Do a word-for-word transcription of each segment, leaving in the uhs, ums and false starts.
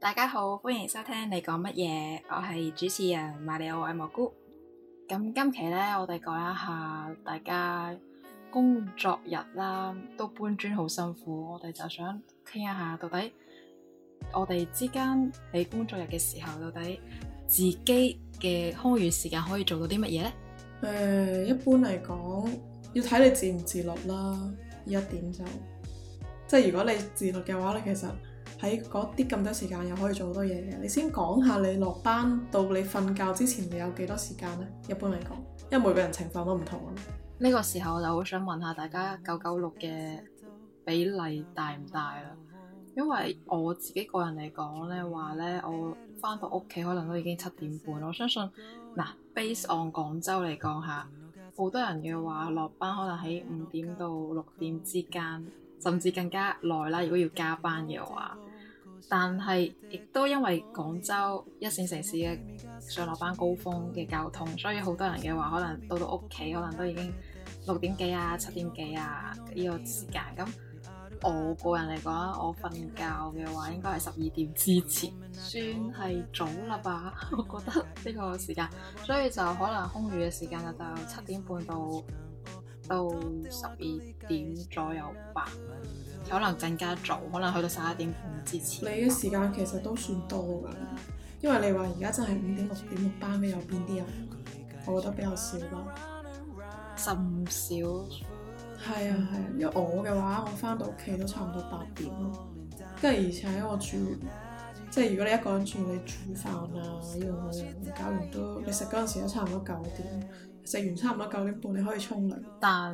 大家好，歡迎收聽你講乜嘢，我係主持人馬里奧愛蘑菇。咁今期呢，我哋講一下大家工作日啦，都搬磚好辛苦，我哋就想傾一下到底我哋之間喺工作日嘅時候，到底自己嘅空餘時間可以做到啲乜嘢呢？ 誒、呃，一般嚟講，要睇你自唔自律啦。呢一點就，即係如果你自律嘅話，你其實喺嗰啲咁多時間又可以做好多嘢嘅。你先講下你落班到你瞓覺之前，你有幾多時間呢？一般嚟講，因為每個人情況都唔同啊。 呢個時候我就好想問下大家九九六嘅比例大唔大啦？因為我自己個人嚟講咧，話咧我翻到屋企可能都已經七點半。我相信嗱，base on 廣州嚟講下，好多人嘅話落班可能喺五點到六點之間，甚至更加耐啦。如果要加班嘅話，但係亦都因為廣州一線城市嘅上落班高峰嘅交通，所以好多人嘅話可能到到屋企可能都已經六點幾啊、七點幾啊呢個時間。咁我個人嚟講，我瞓覺嘅話應該係十二點之前，算係早啦吧？我覺得呢個時間，所以就可能空餘嘅時間就七點半到到十二點左右吧，可能更加早，可能去到十一點半之前。 你嘅時間其實都算多㗎，因為你話而家真係五點六點六班嘅有邊啲人？我覺得比較少啦， 甚少。 係啊係啊，因為我嘅話，我翻到屋企都差唔多八點咯，跟住而且我住，即係如果你一個人住，你煮飯啊，呢樣嗰樣搞完都，你食嗰陣時都差唔多九點，食完差唔多九點半你可以沖涼。 但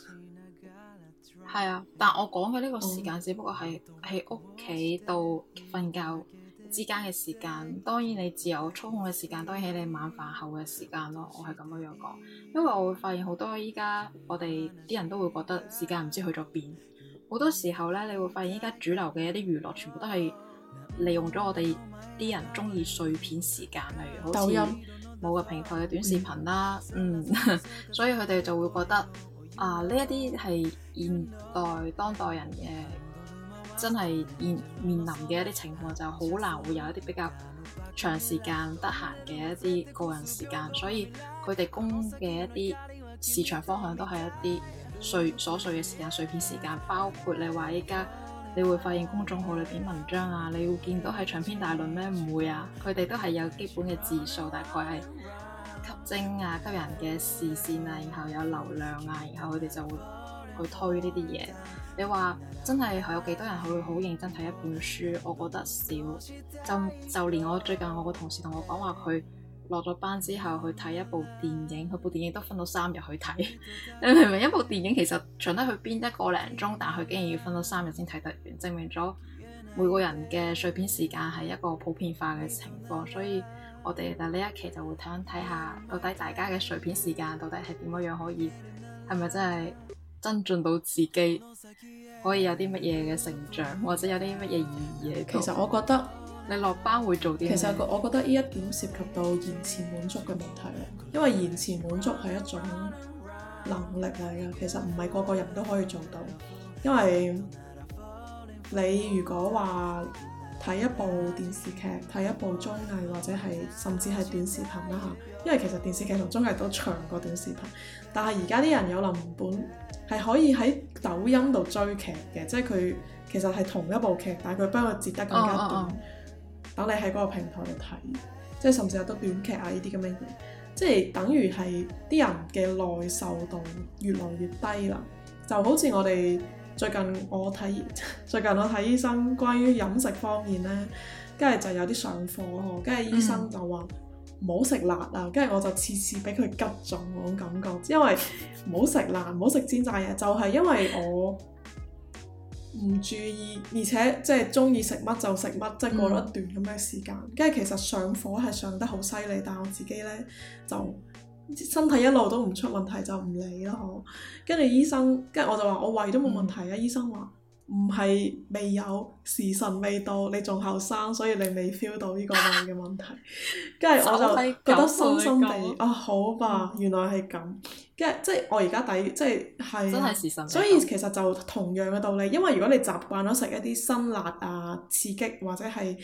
係啊，但我講嘅呢個時間只不過係喺屋企到瞓覺之間嘅時間，當然你自由操控嘅時間都係喺你晚飯後嘅時間咯。我係咁樣樣講，因為我會發現好多依家我哋啲人都會覺得時間唔知去咗邊。好多時候咧，你會發現依家主流嘅一啲娛樂全部都係利用咗我哋啲人中意碎片時間，例如好似某個平台嘅短視頻啦，嗯，嗯所以佢哋就會覺得啊，呢一啲係現代當代人嘅。真係面面臨嘅一啲情況，就好難會有一啲比較長時間得閒嘅一啲個人時間，所以佢哋供嘅一啲市場方向都係一啲碎瑣碎嘅時間、碎片時間。包括你話依家你會發現公眾號裏邊文章啊，你會見到係長篇大論咩？唔會啊，佢哋都係有基本嘅字數，大概係吸睛啊、吸人嘅視線啊，然後有流量啊，然後佢哋就會去推呢啲嘢。你話真係有幾多人會好認真睇一本書？我覺得少。就就連我最近我個同事同我講話，佢落咗班之後去睇一部電影，佢部電影都分到三日去睇。你明唔明？一部電影其實長得去邊一個零鐘，但佢竟然要分到三日先睇得完，證明咗每個人嘅碎片時間係一個普遍化嘅情況。所以我哋就呢一期就會睇睇下，到底大家嘅碎片時間到底係點樣樣可以，係咪真係增進到自己可以有啲乜嘢嘅成長，或者有啲乜嘢意義？ 其實我覺得你落班會做啲咩？ 其實我覺得呢一點涉及到延遲滿足嘅問題啦，因為延遲滿足係一種能力嚟嘅，其實唔係個個人都可以做到。因為你如果話睇一部電視劇、睇一部綜藝或者係甚至係短視頻啦嚇，因為其實電視劇同綜藝都長過短視頻，但係而家啲人有能本係可以喺抖音度追劇嘅，即係佢其實係同一部劇，但係佢幫佢截得更加短，等、oh, oh, oh. 你喺嗰個平台度睇，即係甚至有得短劇啊呢啲咁嘅嘢，即係等於係啲人嘅耐受度越來越低啦。就好似我哋最近我睇最近我睇醫生關於飲食方面咧，跟住就有啲上課呵，跟住醫生就話唔好食辣啊，跟住我就次次俾佢擊中嗰種感覺，因為唔好食辣，唔好食煎炸嘢，就係、是、因為我唔注意，而且即係中意食乜就食乜，即係過咗一段咁嘅時間。跟住、嗯、其實上火係上得好犀利，但係我自己咧就身體一路都唔出問題，就唔理啦嗬。跟住醫生，跟住我就話我胃都冇問題啊，嗯、醫生話唔係未有，時辰未到，你仲後生，所以你未 feel 到呢個胃嘅問題。跟住我就覺得深深地啊，好吧，嗯、原來係咁。跟住即係我而家抵，即係係， 真係時辰未到。 所以其實就同樣嘅道理，因為如果你習慣咗食一啲辛辣啊、刺激或者係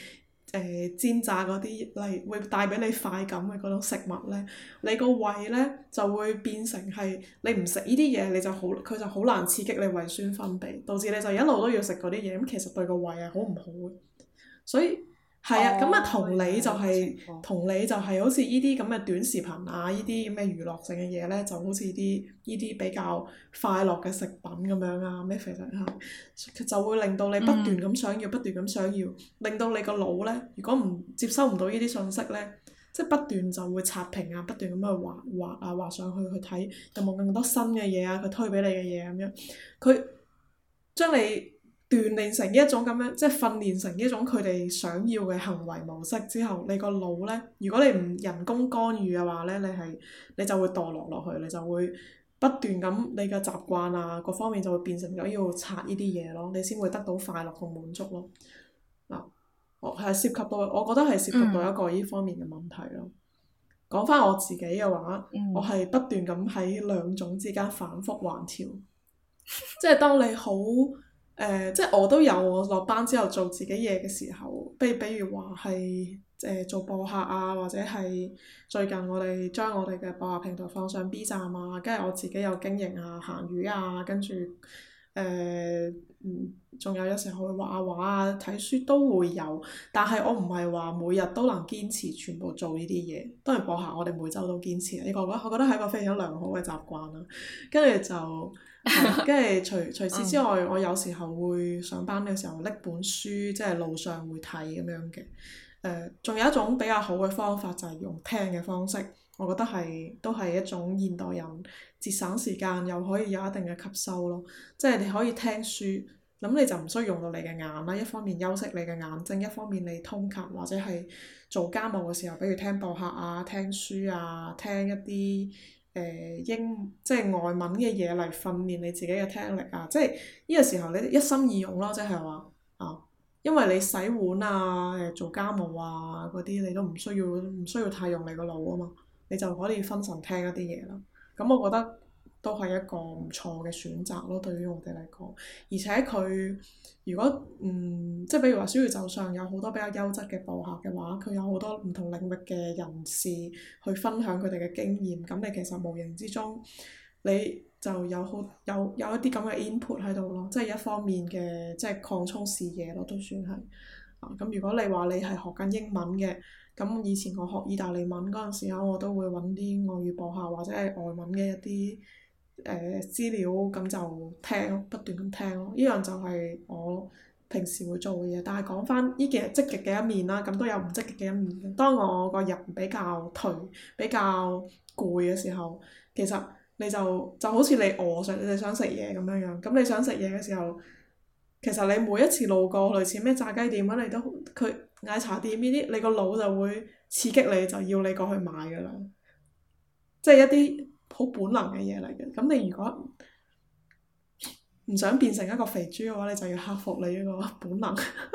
誒煎炸嗰啲嚟會帶俾你快感嘅嗰種食物呢，你個胃呢就會變成係你唔食呢啲嘢，你就好佢就好難刺激你胃酸分泌，導致你就一路都要食嗰啲嘢，咁其實對個胃係好唔好嘅。所以係啊，咁啊、哦、同理就係、是、同理就係好似呢啲咁嘅短視頻啊，呢啲咁嘅娛樂性嘅嘢呢，就好似啲呢啲比較快樂嘅食品咁樣啊，咩肥仔嚇，就會令到你不斷咁想要，嗯、不斷咁想要，令到你個腦呢，如果唔接收唔到呢啲信息呢，即係不斷就會刷屏啊，不斷咁去滑滑啊滑上去去睇有冇更多新嘅嘢啊，佢推俾你嘅嘢咁樣，佢將你鍛鍊成一種咁樣，即係訓練成一種佢哋想要嘅行為模式之後，你個腦呢，如果你唔人工干預嘅話呢，你係你就會墮落落去，你就會不斷咁你嘅習慣啊各方面就會變成咗要刷呢啲嘢咯，你先會得到快樂同滿足咯。嗱，我係涉及到，我覺得係涉及到一個呢方面嘅問題咯。講翻、嗯、我自己嘅話，嗯、我係不斷咁喺兩種之間反覆橫跳，即係當你好。誒、呃，即係我都有我落班之後做自己嘢嘅時候，比比如話係誒做播客啊，或者係最近我哋將我哋嘅播客平台放上 B 站啊，跟住我自己有經營啊、閒魚啊，跟住誒嗯，仲有有時候會畫下畫啊、睇書都會有，但係我唔係話每日都能堅持全部做呢啲嘢。當然播客我哋每週都堅持，呢個我覺得係一個非常良好嘅習慣啦。跟住就。跟住除除此之外，我有時候會上班嘅時候拎本書，即係路上會睇咁樣嘅。誒、呃，仲有一種比較好嘅方法就係用聽嘅方式，我覺得係都係一種現代人節省時間又可以有一定嘅吸收咯。即係你可以聽書，咁你就唔需要用到你嘅眼啦。一方面休息你嘅眼睛，一方面你通勤或者係做家務嘅時候，比如聽播客啊、聽書啊、聽一啲。誒、呃、英即係外文嘅嘢嚟訓練你自己嘅聽力啊！即係呢個時候你一心二用咯，即係話啊，因為你洗碗啊、誒做家務啊嗰啲，你都唔需要唔需要太用你個腦啊嘛，你就可以分神聽一啲嘢啦。咁我覺得都係一個唔錯嘅選擇咯，對於我哋嚟講。而且佢如果嗯，即係比如話小宇宙上有好多比較優質嘅播客嘅話，佢有好多唔同領域嘅人士去分享佢哋嘅經驗，咁你其實無形之中你就有好有有一啲咁嘅 input 喺度咯，即係一方面嘅即係擴充視野咯，都算係。啊，咁如果你話你係學緊英文嘅，咁以前我學意大利文嗰陣時候，我都會揾啲外語播客或者係外文嘅一啲。誒、呃、資料咁就聽，不斷咁聽咯。呢樣就係我平時會做嘅嘢。但係講翻呢件係積極嘅一面啦，咁都有唔積極嘅一面嘅。當我個人比較頹、比較攰嘅時候，其實你就就好似你餓想你想食嘢咁樣樣。咁你想食嘢嘅時候，其實你每一次路過類似咩炸雞店啊，你都佢奶茶店呢啲，你個腦就會刺激你，就要你過去買㗎啦。即係一啲好本能嘅嘢嚟嘅，咁你如果唔想變成一個肥豬嘅話，你就要克服你呢個本能。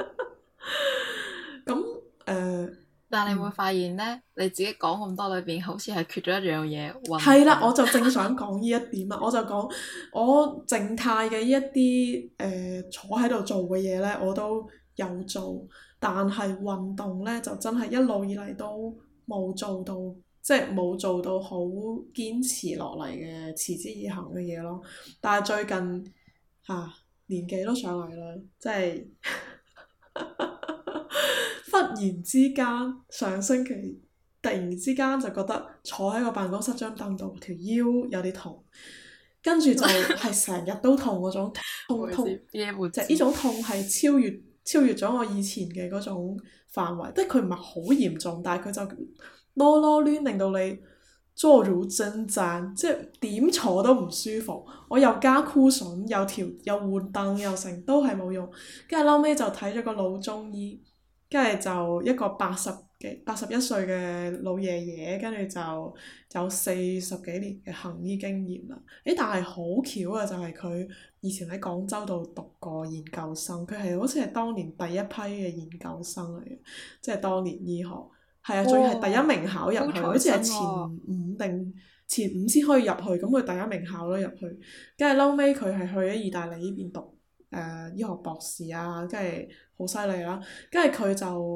咁誒，呃、 但係你會發現呢，嗯、你自己講咁多裏邊，好似係缺咗一樣嘢。 係啦，我就正想講呢一點啊！我就講我靜態嘅呢一啲誒、呃、坐喺度做嘅嘢呢，我都有做，但係運動呢，就真係一路以嚟都冇做到。即係冇做到好堅持落嚟嘅持之以恆嘅嘢咯，但係最近嚇、啊、年紀都上嚟啦，即係忽然之間上星期突然之間就覺得坐喺個辦公室張凳度條腰有啲痛，跟住就係成日都痛嗰種痛痛，即係呢種痛係超越超越咗我以前嘅嗰種範圍，即係佢唔係好嚴重，但係佢就。囉囉攣令到你坐如針氈，即係點坐都唔舒服。我又加箍筍，又調又換凳，又成都係冇用。跟住後尾就睇咗個老中醫，跟住就一個八十幾八十一歲嘅老爺爺，跟住就有四十幾年嘅行醫經驗啦。誒，但係好巧啊，就係佢以前喺廣州度讀過研究生，佢係好似係當年第一批嘅研究生嚟嘅，即係當年醫學。係啊，仲要係第一名考入去，好似係前五定前五先可以入去，咁佢第一名考咗入去。跟住後尾，佢係去咗意大利呢邊讀誒、呃、醫學博士啊，跟住好犀利啦。跟住佢就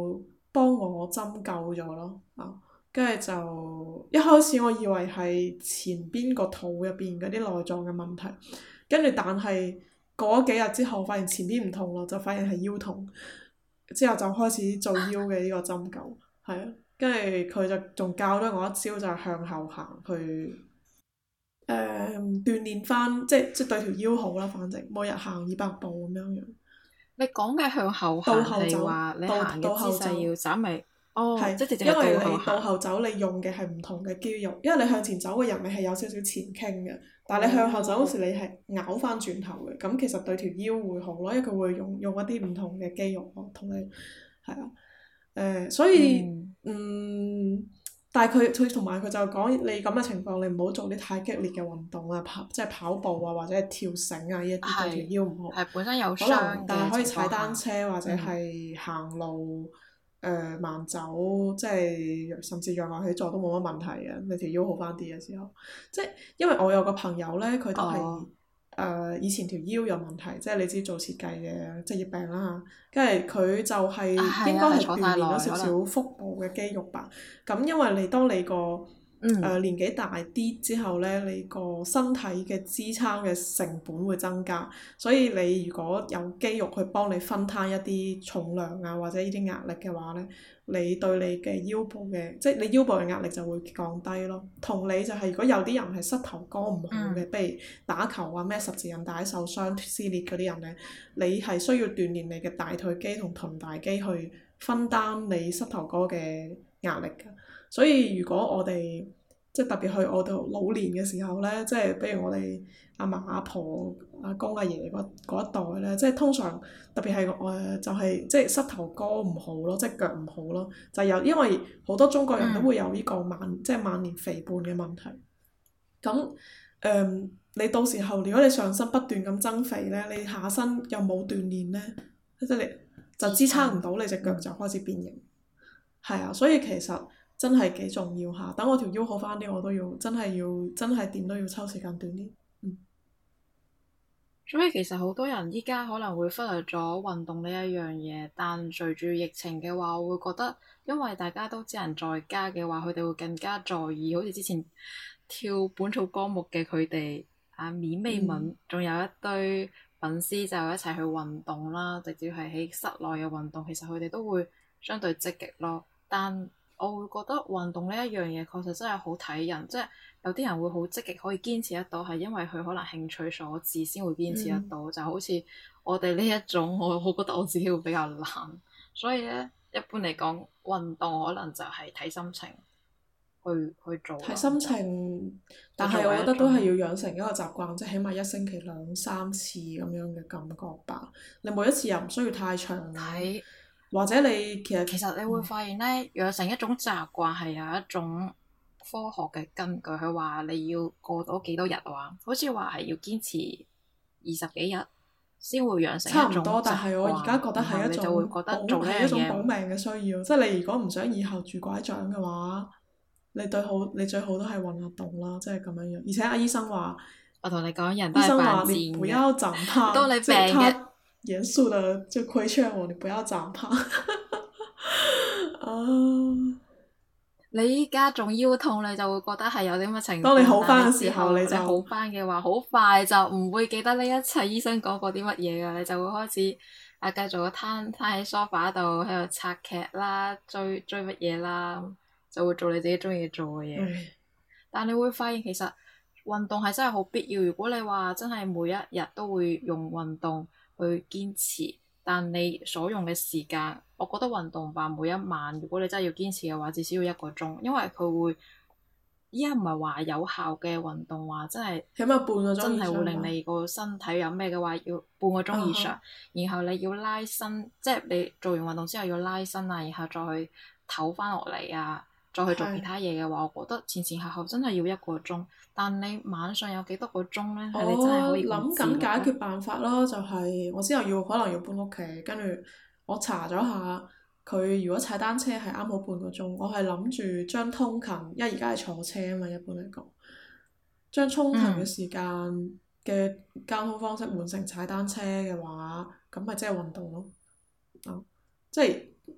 幫我針灸咗咯，啊，跟住就一開始我以為係前邊個肚入邊嗰啲內臟嘅問題，跟住但係過咗幾日之後，發現前邊唔痛咯，就發現係腰痛，之後就開始做腰嘅呢個針灸，係啊，跟住佢就仲教咗我一招，就係向後行去誒、呃、鍛鍊翻，即係即係對條腰好啦，反正每日行二百步咁樣樣。 你講嘅向後倒行係後走， 話你倒行嘅姿倒後走， 勢要稍微，哦， 係即係直接因為係倒後你倒行。 後走，你用嘅係唔同嘅肌肉，因為你向前走嘅人你係有少少前傾嘅，但係你向後走嗰時你係拗翻轉頭嘅，咁其實對條腰會好咯，因為佢會用用一啲唔同嘅肌肉咯，同你係啊，誒、呃，所以嗯， 嗯，但係佢佢同埋佢就講你咁嘅情況，你唔好做啲太激烈嘅運動啊，跑即係跑步啊，或者係跳繩啊，呢一啲對條係腰唔好。 係本身有可能傷但係可以嘅情況踩單下， 車或者嗯， 係行路，誒、呃、慢走，即係甚至仰臥起坐都冇乜問題嘅。你條腰好翻啲嘅時候，即係因為我有個朋友咧，佢都係誒、 哦， 呃、以前條腰有問題，即係你知做設計嘅職業病啦，跟住佢就係啊係啊， 應該係係坐太耐鍛鍊咗少可能， 少腹部嘅肌肉吧。咁因為你當你個誒、 嗯， 呃、年紀大啲之後咧，你個身體嘅支撐嘅成本會增加，所以你如果有肌肉去幫你分攤一啲重量啊，或者呢啲壓力嘅話咧，你對你嘅腰部嘅，即係你腰部嘅壓力就會降低咯。同理就係如果有啲人係膝頭哥唔好嘅， 嗯， 譬如打球啊咩十字韌帶受傷撕裂嗰啲人咧，你係需要鍛鍊你嘅大腿肌同臀大肌去分擔你膝頭哥嘅壓力㗎。所以如果我哋即係特別去我哋老年嘅時候咧，即係比如我哋阿嫲阿婆、阿公阿爺嗰嗰一代咧，即係通常特別係誒就係、即係膝頭哥唔好咯，即係腳唔好咯，就有因為好多中國人都會有呢個晚即係晚年肥胖嘅問題。咁誒、嗯，你到時候如果你上身不斷咁增肥咧，你下身又冇鍛鍊咧，即係你就支撐唔到，你隻腳就開始變形。係啊，所以其實真係幾重要下。等我條腰好翻啲，我都要真係要真係點都要抽時間鍛鍊。嗯。 所以其實好多人依家可能會忽略咗運動呢一樣嘢，但隨住疫情嘅話，我會覺得因為大家都只能在家嘅話，佢哋會更加在意，好似之前跳本草綱目嘅佢哋啊，免美嗯。 敏，仲有一堆粉絲就一齊去運動啦，直接係喺室內嘅運動，其實佢哋都會相對積極咯。但我會覺得運動呢一樣嘢確實真係好睇人，即係有啲人會好積極可以堅持得到，係因為佢可能興趣所致先會堅持得嗯。 到。就好似我哋呢一種，我我覺得我自己會比較懶，所以咧一般嚟講，運動可能就係睇心情去去做咯， 睇心就情，但就作係我覺得都係為一種要養成一個習慣，即係起碼一星期兩三次咁樣嘅感覺吧。你每一次又唔需要太長啊， 睇。 或者你其實其實你會發現咧，養成一種習慣係有一種科學嘅根據。佢話你要過咗幾多日話，好似話係要堅持二十幾日先會養成一種差唔多，但習係我而家慣， 覺得係一然後你就會種保覺得做呢係一種保樣嘢， 命嘅需要。即係你如果唔想以後拄拐杖嘅話，你對好你最好都係運下動啦，即係咁樣樣。而且阿醫生話， 我同你講，人都醫生係犯話你不賤嘅。 要長胖， 當你即係病嘅， 他嚴肅地就規勸我，你不要長胖。啊！ 你依家仲腰痛，你就會覺得係有啲乜情況。 當你好翻嘅時但係之後候，你就你好翻嘅話，好快就唔會記得呢一切醫生講過啲乜嘢㗎，你就會開始啊繼續攤攤喺梳化度喺度刷劇啦、追追乜嘢啦，就會做你自己中意做嘅嘢。 唉， 但你會發現其實運動係真係好必要。如果你話真係每一日都會用運動去堅持，但你所用嘅時間，我覺得運動吧每一晚，如果你真係要堅持嘅話，至少要一個鐘，因為佢會依家唔係話有效嘅運動話，真係起碼半個鐘真係會以上吧。 令你個身體有咩嘅話，要半個鐘以上， 啊然後你要拉伸，即係你做完運動之後要拉伸啊，然後再去唞翻落嚟啊。再去做其他嘢嘅話，我覺得前前後後真係要一個鐘。但你晚上有幾多個鐘咧？係你真係我可以咁諗自律咧？ 緊解決辦法咯，就係我之後要可能要搬屋企，跟住我查咗下，佢如果踩單車係啱好半個鐘，我係諗住將通勤，因為而家係坐車啊嘛，一般嚟講，將通勤嘅嗯， 時間嘅交通方式換成踩單車嘅話，咁咪即係運動咯。啊，即係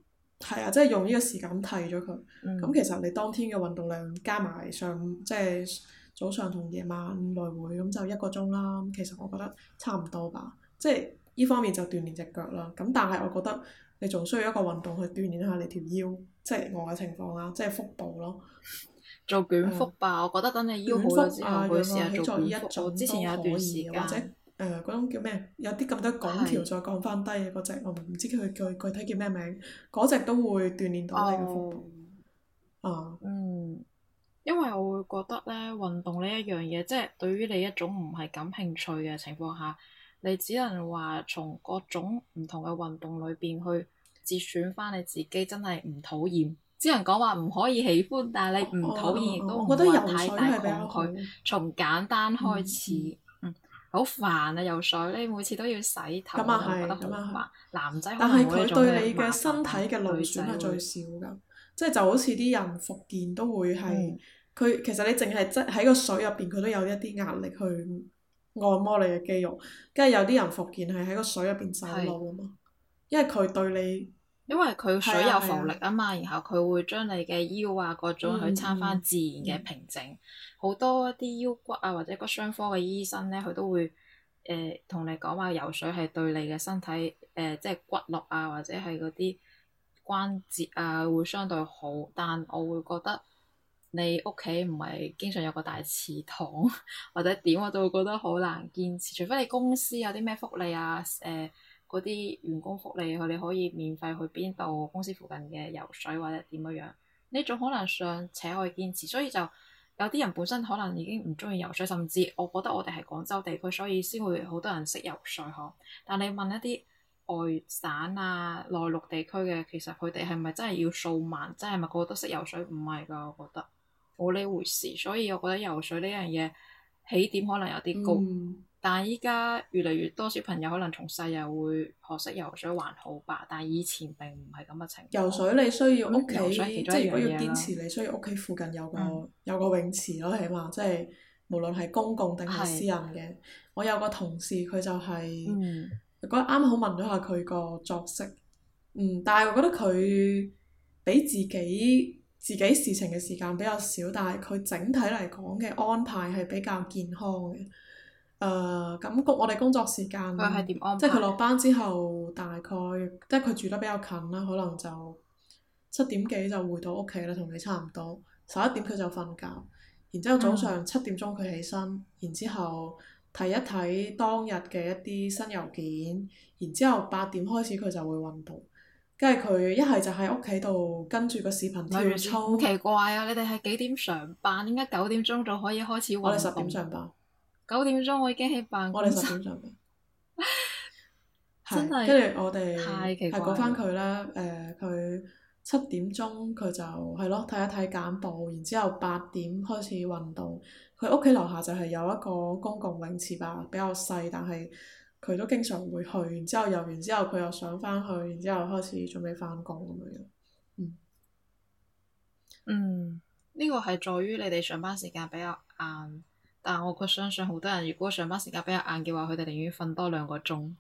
係啊，即係用呢個時間替咗佢。咁、 嗯其實你當天嘅運動量加埋上，即係早上同夜晚來回咁就一個鐘啦。咁其實我覺得差唔多吧。即係呢方面就鍛鍊隻腳啦。咁但係我覺得你仲需要一個運動去鍛鍊下你條腰，即係我嘅情況啦，即係腹部咯。 做捲腹誒吧，我覺得等你腰好捲腹咗之後， 啊，仰可以試下做臥起坐呢一捲腹。我種之前有一都可段時以嘅，或者間誒嗰種叫咩？有啲咁多拱條係再降翻低嘅嗰隻，我唔知佢具具體叫咩名。嗰隻都會鍛鍊到你嘅腹哦， 部。啊， 嗯，因為我會覺得咧，運動呢一樣嘢，即係對於你一種唔係感興趣嘅情況下，你只能話從各種唔同嘅運動裏邊去節選翻你自己真係唔討厭。只能講話唔可以喜歡，但係你唔哦討厭，亦哦哦， 都唔我覺得會話游水太大係比較好。 抗拒。從簡單開嗯嗯， 始，嗯，好煩啊！游水你每次都要洗頭， 咁啊係， 我就會覺得好咁啊係。 煩。男仔可但係能冇呢佢對你種嘅麻煩， 嘅身體但嘅勞女仔損係最會， 少㗎，即係就好似啲人復健都會係， 嗯， 佢其實你淨係即喺個水入邊，佢都有一啲壓力去按摩你嘅肌肉，跟住有啲人復健係喺個水入邊走係。 路啊嘛，因為佢對你因為佢係水有浮力啊係啊， 啊嘛，然後佢會將你嘅腰啊各種去嗯撐翻嗯自然嘅嗯平靜。好多一啲腰骨啊或者骨傷科嘅醫生咧，佢都會誒同、你講話游水係對你嘅身體誒、呃、即係骨骼啊或者係嗰啲關節啊會相對好，但我會覺得你屋企唔係經常有個大祠堂或者點，我就會覺得好難堅持。除非你公司有啲咩福利啊誒。嗰啲員工福利，佢哋可以免費去邊度公司附近嘅游水或者點樣樣，呢種可能尚且可以堅持，所以就有啲人本身可能已經唔中意游水，甚至我覺得我哋係廣州地區，所以先會好多人識游水嗬。但你問一啲外省啊、內陸地區嘅，其實佢哋係咪真係要數萬，真係咪個個都識游水？唔係㗎，我覺得冇呢回事。所以我覺得游水呢樣嘢起點可能有啲高。 嗯。 但係依家越嚟越多小朋友可能從細又會學識游水，還好吧。但係以前並唔係咁嘅情況。 游水你需要屋咁游企， 水係其中一即係如果要樣嘢啦。 堅持，你需要屋企附近有個、 嗯， 有個泳池咯，起碼即係無論係公共定係私係， 人嘅。我有個同事佢就係、 嗯， 嗰日啱好問咗下佢個作息，嗯，但係我覺得佢俾自己自己事情嘅時間比較少，但係佢整體嚟講嘅安排係比較健康嘅。誒咁工我哋工作時間， 佢係點安即係佢排？ 落班之後大概，即係佢住得比較近啦，可能就七點幾就回到屋企啦，同你差唔多。十一點佢就瞓覺，然之後早嗯上七點鐘佢起身，然之後睇一睇當日嘅一啲新郵件，然之後八點開始佢就會運動，跟住佢一係就喺屋企度跟住個視頻跳咪住先，好操。 奇怪啊！你哋係幾點上班？點解九點鐘就可以開始我哋十點運動？ 上班， 九點鐘我已經喺辦我哋公室， 十點上班。係， 真係跟住我哋太奇係講翻怪啦！ 佢啦。誒佢七點鐘佢就係咯睇一睇簡報，然之後八點開始運動。佢屋企樓下就係有一個公共泳池吧，比較細，但係佢都經常會去。然之後游完之後佢又上翻去，然之後開始準備翻工咁樣樣。嗯， 嗯，呢個係在於你哋上班時間比較晏，但我卻相信好多人如果上班時間比較晏嘅話，佢哋寧願瞓多兩個鐘。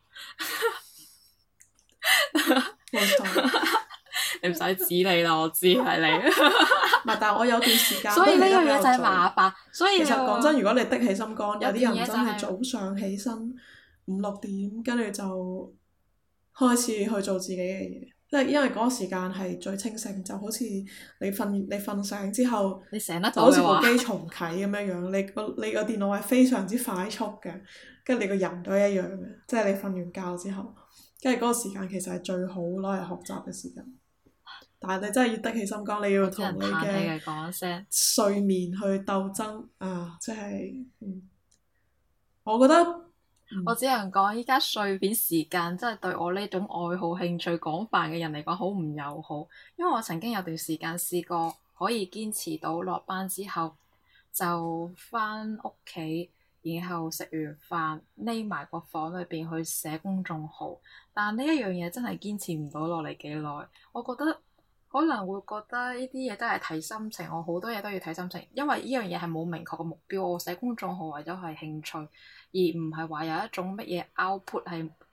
冇錯。 你唔使指你啦，我知係你。 唔係，但係我有段時間所以呢都起得比樣嘢就係較早。 麻煩。所以其實你話講真，如果你的起心肝，有有啲人真係段嘢就係、 早上起身五六點，跟住就開始去做自己嘅嘢。即係因為嗰個時間係最清醒，就好似你瞓你瞓醒之後， 你醒得就好似部到嘅話， 機重啟咁樣樣。你個你個電腦係非常之快速嘅，跟住你個人都一樣嘅。即係你瞓完覺之後，跟住嗰個時間其實係最好攞嚟學習嘅時間。但係你真係要得起心肝，你要同啲人你嘅嘆氣嘅講聲。 睡眠去鬥爭啊！即係，嗯，我覺得，嗯， 我只能講，依家碎片時間真係對我呢種愛好興趣廣泛嘅人嚟講好唔友好。因為我曾經有段時間試過可以堅持到落班之後就返屋企，然後食完飯匿埋個房裏邊去寫公眾號，但呢一樣嘢真係堅持唔到落嚟幾耐。我覺得可能會覺得呢啲嘢都係睇心情，我好多嘢都要睇心情，因為呢樣嘢係冇明確嘅目標。我寫公眾號為咗係興趣，而唔係話有一種乜嘢 output 係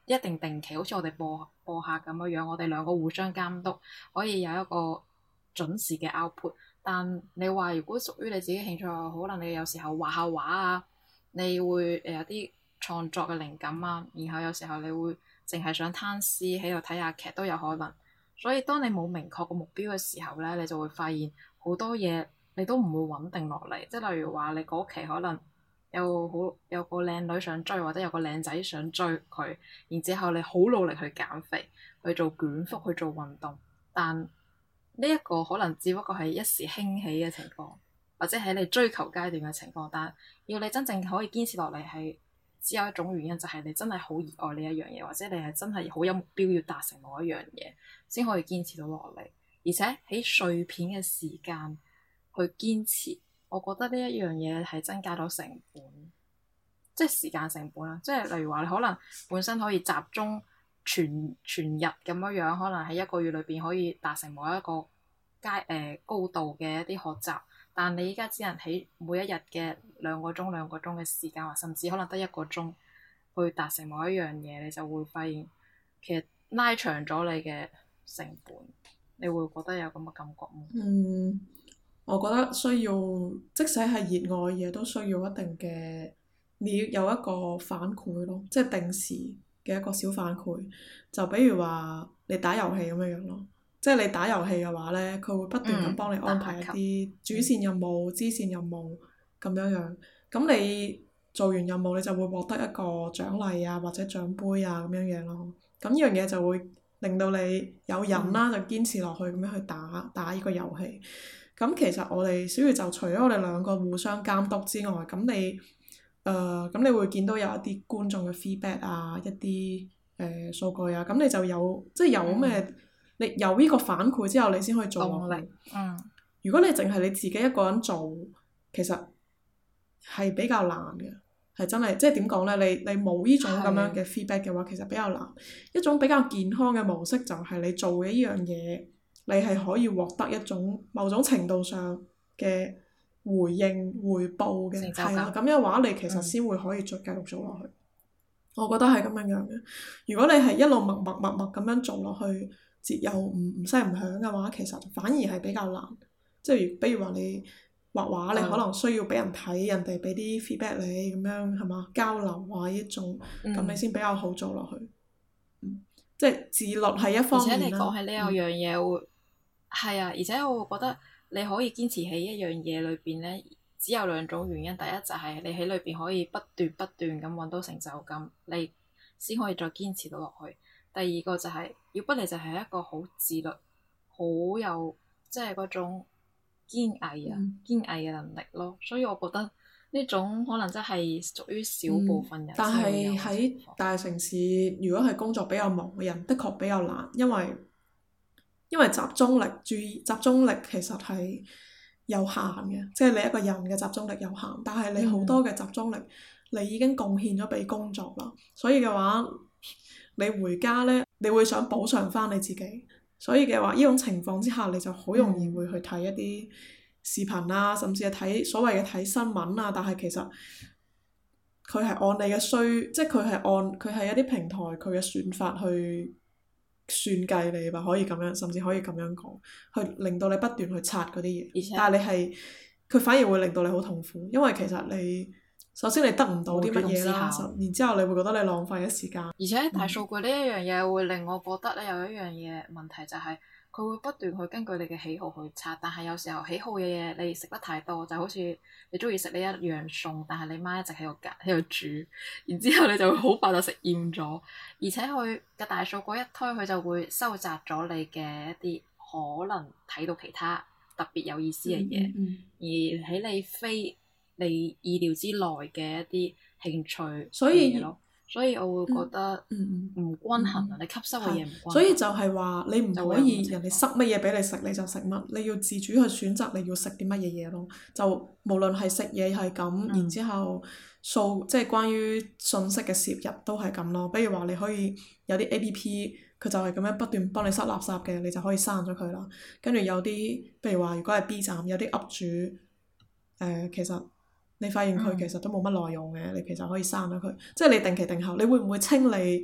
一定定期，好似我哋播播客咁樣樣，我哋兩個互相監督，可以有一個準時嘅 output。但你話如果屬於你自己興趣，可能你有時候畫下畫啊，你會誒有啲創作嘅靈感啊，然後有時候你會淨係想攤屍喺度睇下劇都有可能。所以當你冇明確個目標嘅時候咧，你就會發現好多嘢你都唔會穩定落嚟。即係例如話你嗰期可能有好有個靚女想追，或者有個靚仔想追佢，然之後你好努力去減肥，去做捲腹，去做運動，但呢一個可能只不過係一時興起嘅情況，或者喺你追求階段嘅情況，但要你真正可以堅持落嚟係。只有一種原因就係你真係好熱愛呢一樣嘢，或者你係真係好有目標要達成某一樣嘢，先可以堅持到落嚟。而且喺碎片嘅時間去堅持，我覺得呢一樣嘢係增加咗成本，即係時間成本啦。即係例如話你可能本身可以集中全全日咁樣樣，可能喺一個月裏邊可以達成某一個階誒、呃、高度嘅一啲學習。但你依家只能喺每一日嘅兩個鐘兩個鐘嘅時間，或甚至可能得一個鐘去達成某一樣嘢，你就會發現其實拉長咗你嘅成本，你會覺得有咁嘅感覺嗎？ 嗯，我覺得需要，即使係熱愛嘢，都需要一定嘅，你要有一個反饋咯，即係定時嘅一個小反饋。就比如話你打遊戲咁樣樣咯。即係你打遊戲嘅話呢，佢會不斷咁幫你安排一啲主線任務、支線任務咁樣樣。咁你做完任務，你就會獲得一個獎勵啊，或者獎杯啊咁樣樣咯。咁呢樣嘢就會令到你有癮啦，就堅持落去咁樣去打打呢個遊戲。咁其實我哋小宇宙除咗我哋兩個互相監督之外，咁你誒咁你會見到有一啲觀眾嘅 feedback 啊，一啲誒數據啊，咁你就有即係有咩？嗯你有呢個反饋之後，你先可以做落去。 嗯。 如果你淨係你自己一個人做，其實係比較難嘅，係真係即係點講呢？你你冇呢種咁樣嘅 feedback 嘅話，其實比較難。一種比較健康嘅模式就係你做嘅呢樣嘢，你係可以獲得一種某種程度上嘅回應、回報嘅，係啦。咁樣嘅話，你其實先會可以再繼續做落去。嗯、我覺得係咁樣樣嘅。如果你係一路默默默默咁樣做落去，節又唔唔聲唔響嘅話，其實反而係比較難。即係比如話你畫畫，你可能需要俾人睇，人哋俾啲 feedback 你咁樣係嘛，交流啊呢種，咁、嗯、你先比較好做落去。嗯、即係自律係一方面啦。而且你講起呢樣嘢會係啊，而且我會覺得你可以堅持喺一樣嘢裏邊咧，只有兩種原因。第一就係你喺裏邊可以不斷不斷咁揾到成就感，你先可以再堅持到落去。第二個就係、是，要不你就係一個好自律、好有即係嗰種堅毅啊、嗯、堅毅嘅能力咯。所以我覺得呢種可能真係屬於少部分人、嗯。 但係喺大城市，如果係工作比較忙嘅人，的確比較難，因為因為集中力、注意集中力其實係有限嘅，即係你一個人嘅集中力有限。但係你好多嘅集中力，嗯、你已經貢獻咗俾工作啦，所以嘅話。你回家呢，你會想補償翻你自己，所以嘅話，呢種情況之下，你就好容易會去睇一啲視頻啊，甚至係睇所謂嘅睇新聞啊。但係其實佢係按你嘅需，即係佢係按佢係一啲平台佢嘅算法去算計你吧，可以咁樣，甚至可以咁樣講，去令到你不斷去刷嗰啲嘢。且但係你係佢反而會令到你好痛苦，因為其實你。首先你得唔到啲乜嘢啦，然之後你會覺得你浪費咗時間。 而且大數據呢一樣嘢會令我覺得咧有一樣嘢問題就係佢會不斷去根據你嘅喜好去刷，但係有時候喜好嘅嘢你食得太多，就好似你中意食呢一樣餸，但係你媽一直喺度隔喺度煮，然之後你就會好快就食厭咗。而且佢嘅大數據一推，佢就會收窄咗你嘅一啲可能睇到其他特別有意思嘅嘢，嗯嗯、而喺你非你意料之內嘅一啲興趣嘅嘢咯，所以我會覺得唔均衡啊！嗯、你吸收嘅嘢唔均衡， 所以就係話你唔可以人哋塞乜嘢俾你食你就食乜，你要自主去選擇你要食啲乜嘢嘢咯。就無論係食嘢係咁，嗯、然之後數即係關於信息嘅攝入都係咁咯。比如話你可以有啲 A P P，佢就係咁樣不斷幫你塞垃圾嘅，你就可以刪咗佢啦。跟住有啲，譬如話如果係 B 站有啲 up 主，誒、呃、其實。你發現佢其實都冇乜內容嘅，嗯、你其實可以刪咗佢。即係你定期定候，你會唔會清理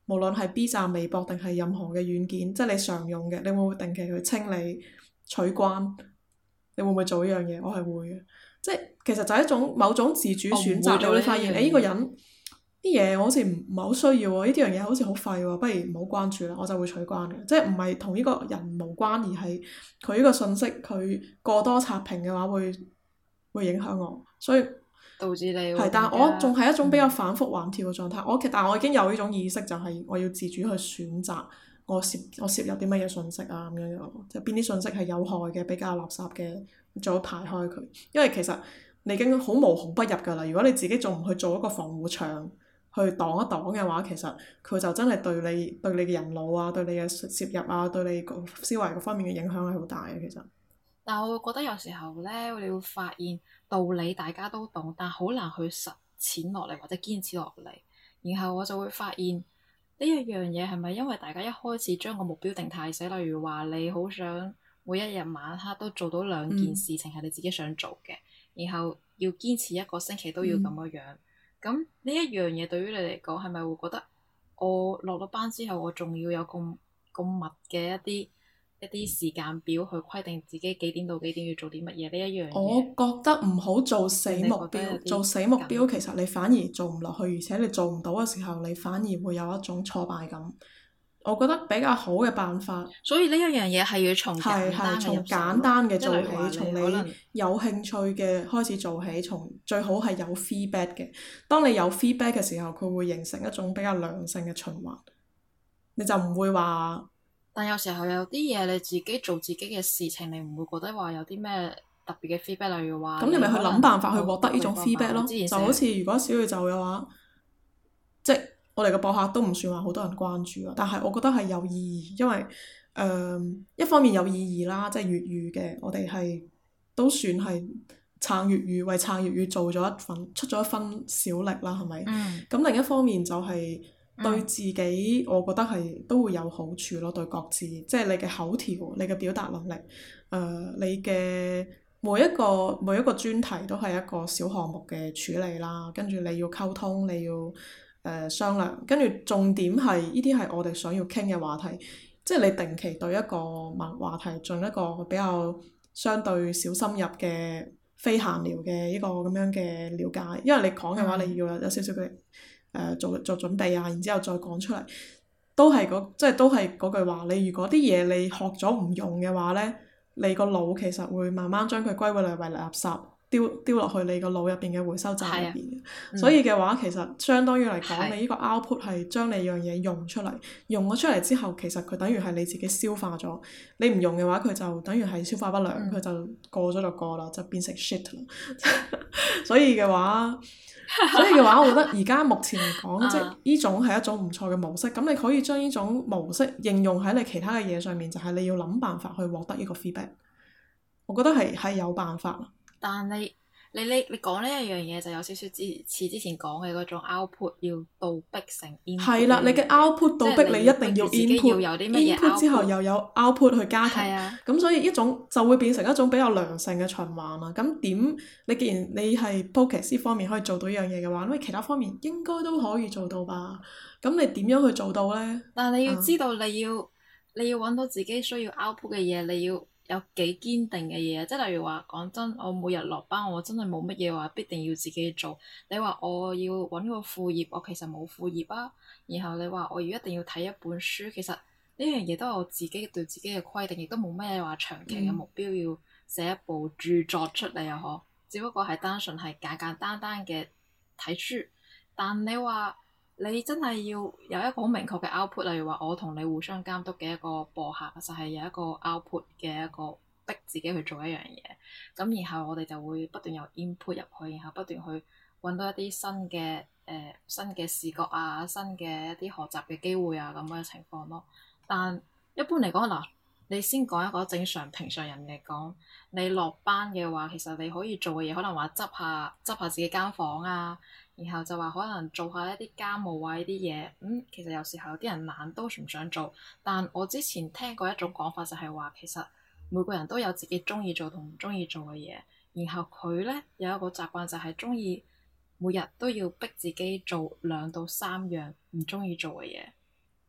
無論係 B 站、微博定係任何嘅軟件，即係你常用嘅，你會唔會定期去清理取關？你會唔會做呢樣嘢？我係會嘅，即係其實就係一種某種自主選擇。你會發現，誒呢個人啲嘢我好似唔唔係好需要喎，呢啲樣嘢好似好廢喎，不如唔好關注啦，我就會取關嘅。即係唔係同呢個人無關，而係佢呢個信息佢過多刷屏嘅話會會影響我，所以導致你係，但係我仲係一種比較反覆橫跳嘅狀態。我其但係我已經有呢種意識，就係我要自主去選擇我攝我攝入啲乜嘢信息啊咁樣樣，即係邊啲信息係有害嘅、比較垃圾嘅，最好排開佢。因為其實你已經好無孔不入㗎啦。如果你自己仲唔去做一個防護牆去擋一擋嘅話，其實佢就真係對你對你嘅人腦啊、對你嘅攝入啊、對你個思維各方面嘅影響係好大嘅。其實。 但係我會覺得有時候咧，你會發現道理大家都懂，但好難去實踐落嚟或者堅持落嚟。然後我就會發現呢一樣嘢係咪因為大家一開始將個目標定太細？例如話你好想每一日晚黑都做到兩件事情係你自己想做嘅，嗯、然後要堅持一個星期都要咁樣樣。咁呢、嗯、一樣嘢對於你嚟講係咪會覺得我落咗班之後我仲要有咁咁密嘅一啲一啲時間表去規定自己幾點到幾點要做啲乜嘢呢一樣嘢？ 我覺得唔好做死目標，做死目標其實你反而做唔落去，而且你做唔到嘅時候，你反而會有一種挫敗感。我覺得比較好嘅辦法， 所以呢一樣嘢係要從係係從簡單嘅做起，從你有興趣嘅開始做起，從最好係有 feedback 嘅。當你有 feedback 嘅時候，佢會形成一種比較良性嘅循環，你就唔會話。 但有時候有啲嘢你自己做自己嘅事情，你唔會覺得話有啲咩特別嘅 feedback，例如話。 咁你咪去諗辦法去獲得呢種 feedback 咯。就好似如果小宇宙嘅話，即係我哋嘅播客都唔算話好多人關注啊，但係我覺得係有意義，因為誒、呃、一方面有意義啦，即係粵語嘅，我哋係都算係撐粵語，為撐粵語做咗一份出咗一分小力啦，係咪？咁、嗯、另一方面就係、是。對自己，我覺得係都會有好處咯。對各自，即係你嘅口條、你嘅表達能力，誒、呃，你嘅每一個每一個專題都係一個小項目嘅處理啦。跟住你要溝通，你要誒、呃、商量。跟住重點係呢啲係我哋想要傾嘅話題，即係你定期對一個問話題進一個比較相對小深入嘅非閒聊嘅一個咁樣嘅了解。因為你講嘅話，你要有有少少嘅。誒、呃、做做準備啊，然之後再講出嚟，都係嗰即係都係嗰句話。你如果啲嘢你學咗唔用嘅話咧，你個腦其實會慢慢將佢歸類為垃圾，丟丟落去你個腦入邊嘅回收站入邊。嗯、所以嘅話，其實相當於嚟講，的你呢個 output 係將你樣嘢用出嚟，用咗出嚟之後，其實佢等於係你自己消化咗。你唔用嘅話，佢就等於係消化不良，佢、嗯、就過咗就過啦，就變成 shit 啦。所以嘅話。所以嘅話，我覺得而家目前嚟講，即係呢種係一種唔錯嘅模式。咁你可以將呢種模式應用喺你其他嘅嘢上面，就係、是、你要諗辦法去獲得呢個 feedback。我覺得係係有辦法。但係你你你講呢一樣嘢就有少少似似之前講嘅嗰種 output 要倒逼成 input。係啦， 你嘅 output 倒逼你一定要 input，input 之後又有 output 去加強。咁的所以一種就會變成一種比較良性嘅循環啦。咁點？你既然你係 focus 呢方面可以做到呢樣嘢嘅話，咁你其他方面應該都可以做到吧？咁你點樣去做到呢？ 但係你要知道你要，嗯、你要揾到自己需要 output 嘅嘢，你要。有幾堅定嘅嘢，即係例如話講真，我每日落班，我真係冇乜嘢話必定要自己做。你話我要揾個副業，我其實冇副業啊。然後你話我要一定要睇一本書，其實呢樣嘢都係我自己對自己嘅規定，亦都冇咩話長期嘅目標要寫一部著作出嚟啊！嗬、嗯，只不過係單純係簡簡單單嘅睇書。但你話，你真係要有一個好明確嘅 output，例如話我同你互相監督嘅一個播客，就係、是、有一個 output 嘅一個逼自己去做一樣嘢。咁然後我哋就會不斷有 input 入去，然後不斷去揾到一啲新嘅誒、呃、新嘅視覺啊、新嘅一啲學習嘅機會啊咁嘅情況咯。但一般嚟講嗱，你先講一個正常平常人嚟講，你落班嘅話，其實你可以做嘅嘢可能話執下執下自己間房啊。然後就話可能做下一啲家務啊，呢啲嘢，嗯，其實有時候有啲人懶都唔想做。但我之前聽過一種講法，就係話其實每個人都有自己中意做同唔中意做嘅嘢。然後佢咧有一個習慣就係中意每日都要逼自己做兩到三樣唔中意做嘅嘢。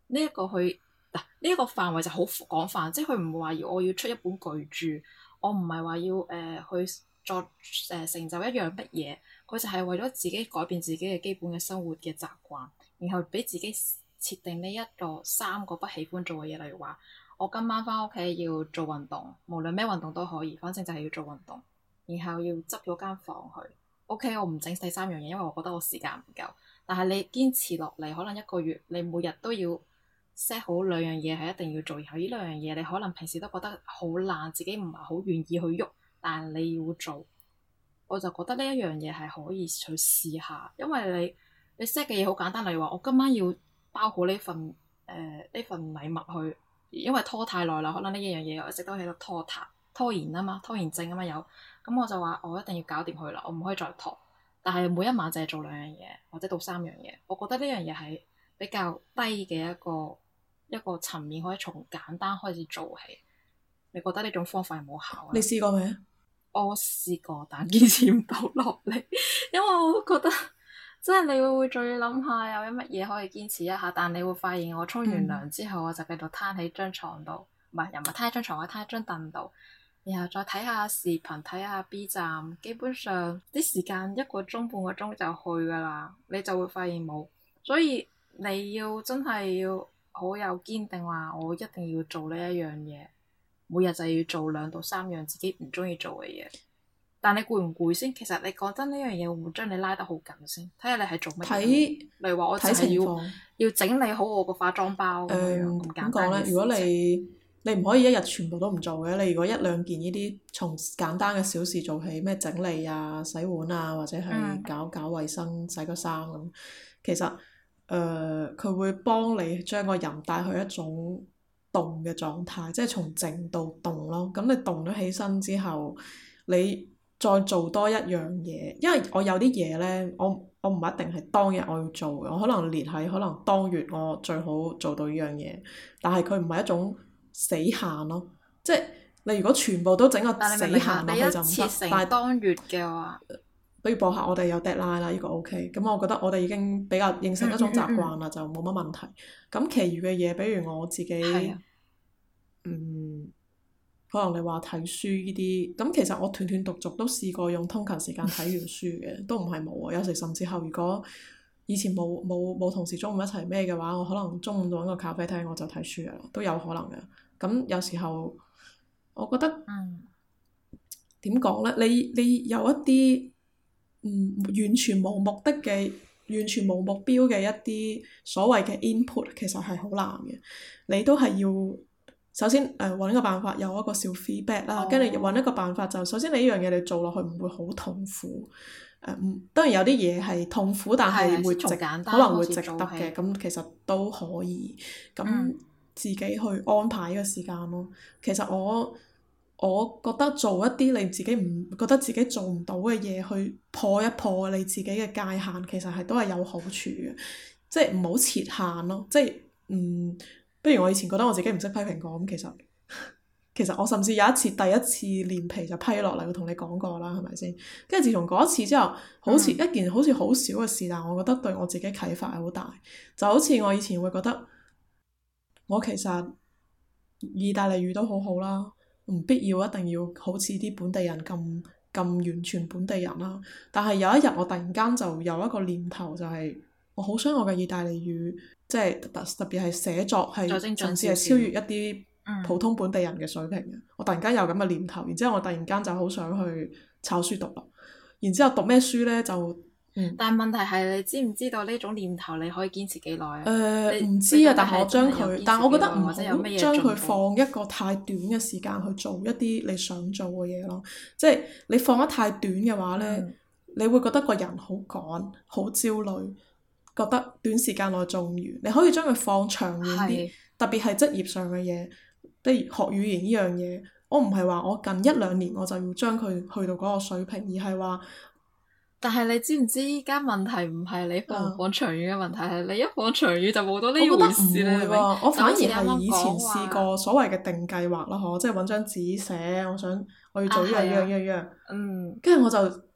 呢一個去嗱呢一個範圍就好廣泛，即係佢唔會話要我要出一本巨著，我唔係話要誒、呃、去作誒、呃、成就一樣乜嘢，佢就係為咗自己改變自己嘅基本嘅生活嘅習慣，然後俾自己設定呢一個三個不喜歡做嘅嘢，例如話我今晚翻屋企要做運動，無論咩運動都可以，反正就係要做運動，然後要執咗間房去。O.K. 我唔整第三樣嘢，因為我覺得我時間唔夠。但係你堅持落嚟，可能一個月你每日都要 set 好兩樣嘢係一定要做，然後呢兩樣嘢你可能平時都覺得好懶，自己唔係好願意去喐，但係你要做，我就覺得呢一樣嘢係可以去試下，因為你你 set 嘅嘢好簡單，例如話我今晚要包好呢份誒呢、呃、份禮物去，因為拖太耐啦，可能呢一樣嘢我一直都喺度拖沓拖延啊嘛，拖延症啊嘛有。咁我就話我一定要搞掂佢啦，我唔可以再拖。但係每一晚就係做兩樣嘢，或者到三樣嘢。我覺得呢樣嘢係比較低嘅一個一個層面，可以從簡單開始做起。你覺得呢種方法有冇效啊？ 你試過未？ 我試過，但堅持唔到落嚟，因為我覺得即係你會再諗下有啲乜嘢可以堅持一下，但你會發現我沖完涼之後，嗯、我就繼續攤喺張床度，唔係又唔係攤喺張床，我攤喺張凳度。然後再睇下視頻，睇下 B 站，基本上啲時間一個鐘半個鐘就去噶啦，你就會發現冇。所以你要真係要好有堅定話，我一定要做呢一樣嘢，每日就要做兩到三樣自己唔中意做嘅嘢。但你攰唔攰先？其實你講真呢樣嘢會唔會將你拉得好緊先？睇下你係做乜嘢？ 睇例如話我就係要要整理好我個化妝包咁樣咁簡單嘅事情。點講咧？ 如果你你唔可以一日全部都唔做嘅，你如果一兩件呢啲從簡單嘅小事做起，咩整理啊、洗碗啊，或者係搞搞衞生、洗個衫咁，其實誒佢、呃、會幫你將個人帶去一種動嘅狀態，即係從靜到動咯。咁你動咗起身之後，你再做多一樣嘢，因為我有啲嘢呢，我我唔一定係當日我要做嘅，我可能列喺可能當月我最好做到呢樣嘢，但係佢唔係一種死限咯，即係你如果全部都整個死限落去就唔得。但係當月嘅話，比如播客我哋有 deadline 啦，呢個 OK。咁我覺得我哋已經比較形成一種習慣啦，嗯嗯嗯就冇乜問題。咁其餘嘅嘢，比如我自己，的嗯，可能你話睇書呢啲，咁其實我斷斷續續都試過用通勤時間睇完書嘅，都唔係冇啊。有時甚至乎，如果以前冇冇冇同事中午一齊咩嘅話，我可能中午就揾個咖啡廳我就睇書噶啦，都有可能嘅。咁有時候，我覺得點講呢？你你有一啲嗯完全冇目的嘅、完全冇目標嘅一啲所謂嘅 input，其實係好難嘅。你都係要首先誒揾、呃、個辦法，有一個小 feedback 啦，跟住揾一個辦法就首先你呢樣嘢你做落去唔會好痛苦。誒、呃、當然有啲嘢係痛苦，但係會值可能會值得嘅，咁其實都可以咁。嗯自己去安排呢個時間咯。其實我我覺得做一啲你自己唔覺得自己做唔到嘅嘢，去破一破你自己嘅界限，其實係都係有好處嘅。即係唔好設限咯。即係嗯，不如我以前覺得我自己唔識批蘋果咁，其實其實我甚至有一次第一次連皮就批落嚟，我同你講過啦，係咪先？跟住自從嗰一次之後，好似一件好似好少嘅事，但我覺得對我自己啟發係好大。就好似我以前會覺得。我其實意大利語都好好啦，唔必要一定要好似啲本地人咁咁完全本地人啦。但係有一日我突然間就有一個念頭，就係我好想我嘅意大利語，即係特特別係寫作係甚至係超越一啲普通本地人嘅水平嘅。嗯、我突然間有咁嘅念頭，然之後我突然間就好想去抄書讀啦。然之後讀咩書呢？就嗯、但係問題係你知唔知道呢種念頭你可以堅持幾耐啊？誒唔、呃、知啊，但係我將佢，但係我覺得唔好將佢放一個太短嘅時間去做一啲你想做嘅嘢咯。即係你放得太短嘅話呢，嗯、你會覺得個人好趕、好焦慮，覺得短時間內做唔完。你可以將佢放長遠啲，是特別係職業上嘅嘢，比如學語言呢樣嘢。我唔係話我近一兩年我就要將佢去到嗰個水平，而係話。但係你知唔知依家問題唔係你放唔放長遠嘅問題，係、啊、你一放長遠就冇到呢回事啦。我，我反而係以前試過所謂嘅定計劃啦，嗬，即係揾張紙寫，我想我要做呢樣樣樣樣。嗯。跟住我就即係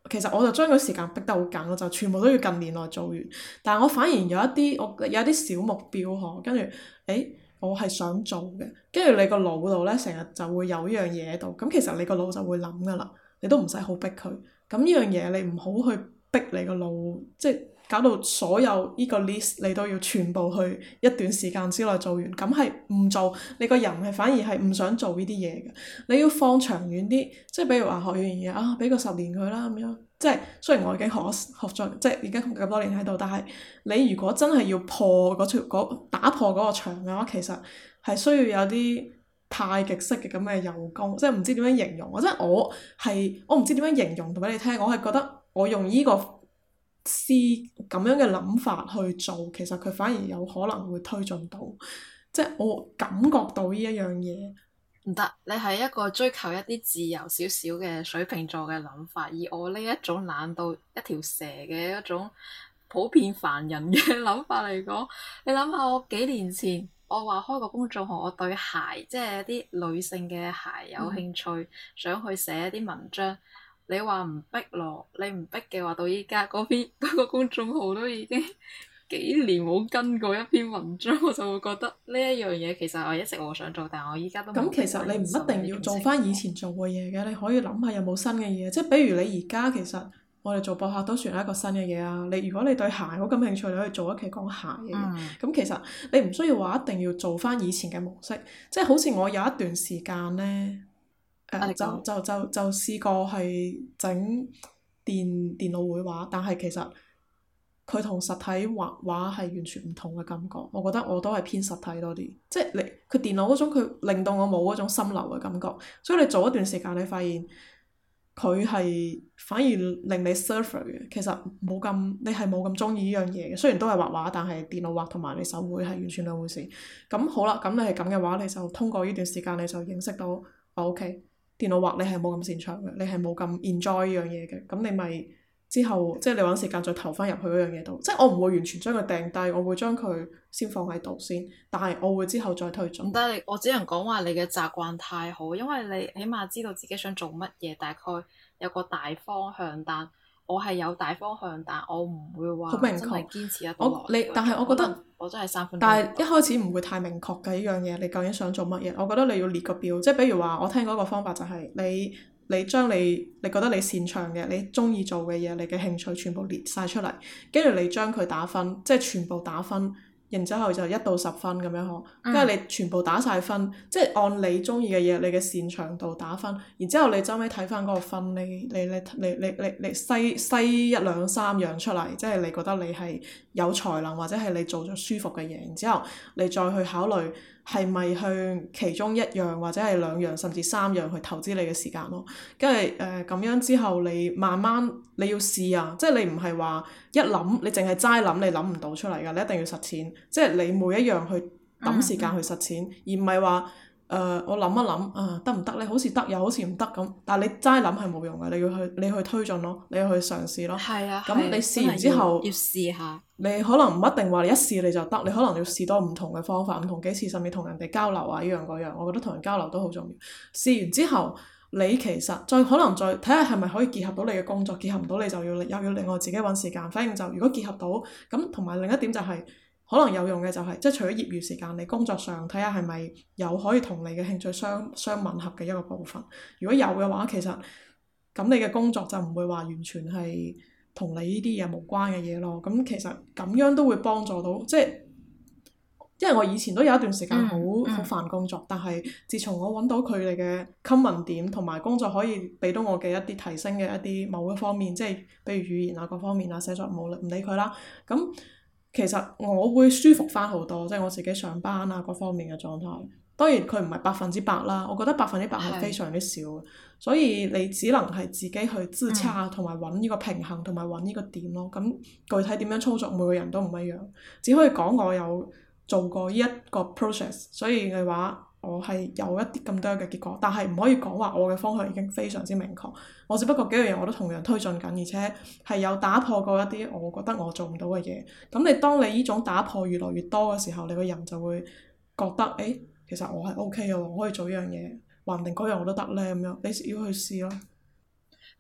其實我就將個時間逼得好緊，我就全部都要近年內做完。但係我反而有一啲我有一啲小目標嗬，跟住誒我係想做嘅，跟住你個腦度咧成日就會有呢樣嘢喺度，咁其實你個腦就會諗噶啦，你都唔使好逼佢。咁呢樣嘢你唔好去逼你個腦，即係搞到所有呢個 list 你都要全部去一段時間之內做完，咁係唔做，你個人係反而係唔想做呢啲嘢嘅。你要放長遠啲，即係比如話學完嘢啊，俾個十年佢啦咁樣。即係雖然我已經學學咗，即係已經咁多年喺度，但係你如果真係要破嗰條嗰打破嗰個牆嘅話，其實係需要有啲太極式嘅咁嘅柔功，即係唔知點樣形容。我即係我係我唔知點樣形容同俾你聽，我係覺得我用呢個思咁樣嘅諗法去做，其實佢反而有可能會推進到，即係我感覺到呢一樣嘢。 唔得，你係一個追求一啲自由少少嘅水瓶座嘅諗法，而我呢一種懶到一條蛇嘅一種普遍凡人嘅諗法嚟講，你諗下我幾年前我話開個公眾號，我對鞋即係啲女性嘅鞋有興趣，嗯、想去寫一啲文章，你話唔逼咯？你唔逼嘅話，到依家嗰篇嗰個公眾號都已經幾年冇跟過一篇文章，我就會覺得呢一樣嘢其實我一直我想做，但係我依家都冇。咁其實你唔一定要做翻以前做嘅嘢嘅，你可以諗下有冇新嘅嘢，即係比如你而家其實我哋做播客都算係一個新嘅嘢啊！你如果你對鞋好感興趣，你可以做一期講鞋嘅。咁、嗯、其實你唔需要話一定要做翻以前嘅模式，即係好似我有一段時間呢，誒、呃、就就就就試過係整電電腦繪畫，但係其實佢同實體畫畫係完全唔同嘅感覺。我覺得我都係偏實體多啲，即係你佢電腦嗰種佢令到我冇嗰種心流嘅感覺，所以你做一段時間你發現佢係反而令你 suffer 嘅。其實冇咁你係冇咁中意呢樣嘢嘅。雖然都係畫畫，但係電腦畫同埋你手繪係完全兩回事。咁好啦，咁你係咁嘅話，你就通過呢段時間你就認識到，哦 OK，電腦畫你係冇咁擅長嘅，你係冇咁 enjoy 呢樣嘢嘅，咁你咪。之後即係你揾時間再投翻入去嗰樣嘢度，即係我唔會完全將佢掟低，我會將佢先放喺度先，但係我會之後再推進。唔得，我只能講話你嘅習慣太好，因為你起碼知道自己想做乜嘢，大概有個大方向。但我係有大方向，但我唔會話真係堅持得到落去。但係我覺得我真係三分鐘。但係一開始唔會太明確嘅呢樣嘢，你究竟想做乜嘢？我覺得你要列個表，即係比如話我聽嗰個方法就係你。你將你你覺得你擅長嘅、你中意做嘅嘢、你嘅興趣全部列晒出嚟，跟住你將佢打分，即係全部打分，然之後就一到十分咁樣呵。跟住、嗯、你全部打晒分，即係按你中意嘅嘢、你嘅擅長度打分，然之後你周尾睇翻嗰個分，你你你你你你你篩篩一兩三樣出嚟，即係你覺得你係有才能或者係你做咗舒服嘅嘢，然之後你再去考慮。係咪向其中一樣或者係兩樣甚至三樣去投資你嘅時間咯？跟住誒咁樣之後，你慢慢你要試啊！即係你唔係話一諗，你淨係齋諗，你諗唔到出嚟㗎。你一定要實踐，即係你每一樣去揼時間去實踐，嗯、而唔係話誒我諗一諗啊得唔得咧？好似得又好似唔得咁。但係你齋諗係冇用嘅，你要去你去推進咯，你要去嘗試咯。係啊，咁你試完之後要，要試下。你可能唔一定話你一試你就得，你可能要試多唔同嘅方法，唔同幾次，甚至同人哋交流啊，呢樣嗰樣。我覺得同人交流都好重要。試完之後，你其實再可能再睇下係咪可以結合到你嘅工作，結合唔到你就要又要另外自己揾時間。反正就如果結合到咁，同埋另一點就係、是、可能有用嘅就係、是，即係除咗業餘時間，你工作上睇下係咪有可以同你嘅興趣相相吻合嘅一個部分。如果有嘅話，其實咁你嘅工作就唔會話完全係同你呢啲嘢無關嘅嘢咯，咁其實咁樣都會幫助到，即係因為我以前都有一段時間好好煩工作，但係自從我揾到佢哋嘅 common 點同埋工作可以俾到我嘅一啲提升嘅一啲某一方面，即係比如語言啊各方面啊寫作冇唔理佢啦，咁其實我會舒服翻好多，即係我自己上班啊各方面嘅狀態。當然佢唔係百分之百啦，我覺得百分之百係非常之少嘅，所以你只能係自己去自洽同埋揾呢個平衡同埋揾呢個點咯。咁具體點樣操作，每個人都唔一樣，只可以講我有做過呢一個 process，所以嘅話我係有一啲咁多嘅結果，但係唔可以講話我嘅方向已經非常之明確。我只不過幾樣嘢我都同樣推進緊，而且係有打破過一啲我覺得我做唔到嘅嘢。咁你當你呢種打破越來越多嘅時候，你個人就會覺得誒。欸其實我係 O K 嘅喎，我可以做呢樣嘢，話唔定嗰樣我都得咧咁樣，你要去試咯。